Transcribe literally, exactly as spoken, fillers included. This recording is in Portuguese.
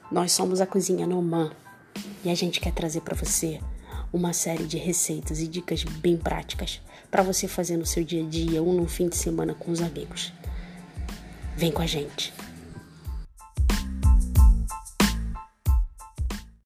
Nós somos a Cozinha Nomã e a gente quer trazer para você uma série de receitas e dicas bem práticas para você fazer no seu dia a dia ou no fim de semana com os amigos. Vem com a gente!